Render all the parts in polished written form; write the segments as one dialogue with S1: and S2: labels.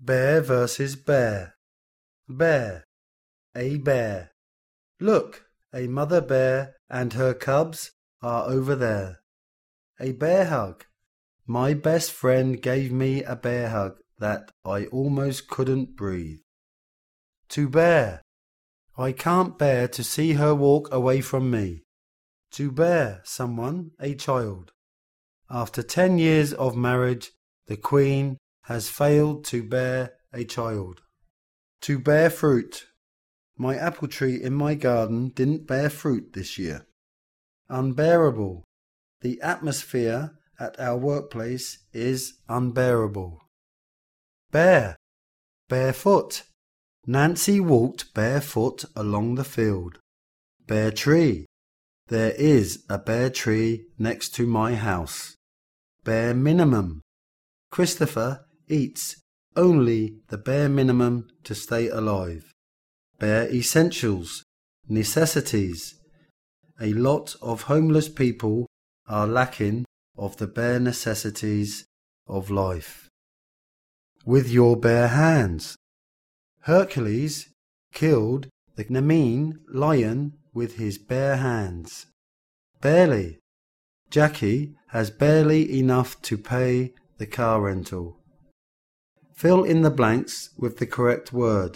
S1: Bear versus bear. Bear. A bear. Look, a mother bear and her cubs are over there. A bear hug. My best friend gave me a bear hug that I almost couldn't breathe. To bear. I can't bear to see her walk away from me. To bear someone, a child. After 10 years of marriage, the Queen has failed to bear a child. To bear fruit. My apple tree in my garden didn't bear fruit this year. Unbearable. The atmosphere at our workplace is unbearable. Bare. Barefoot. Nancy walked barefoot along the field. Bare tree. There is a bare tree next to my house. Bare minimum. Christopher eats only the bare minimum to stay alive. Bare essentials. Necessities. A lot of homeless people are lacking of the bare necessities of life. With your bare hands. Hercules killed the Nemean lion with his bare hands. Barely. Jackie has barely enough to pay the car rental. Fill in the blanks with the correct word.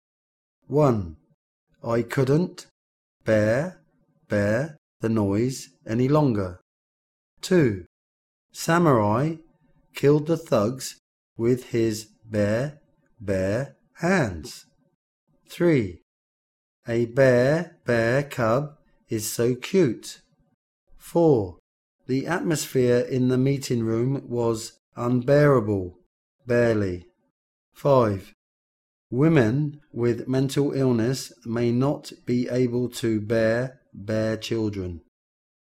S1: 1. I couldn't bear the noise any longer. 2. Samurai killed the thugs with his bare hands. 3. A bear cub is so cute. 4. The atmosphere in the meeting room was unbearable, barely. 5. Women with mental illness may not be able to bear children.